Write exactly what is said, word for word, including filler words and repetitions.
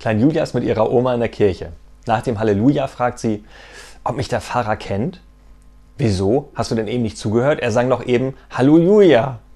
Klein Julia ist mit ihrer Oma in der Kirche. Nach dem Halleluja fragt sie, ob mich der Pfarrer kennt. Wieso? Hast du denn eben nicht zugehört? Er sang doch eben Halleluja.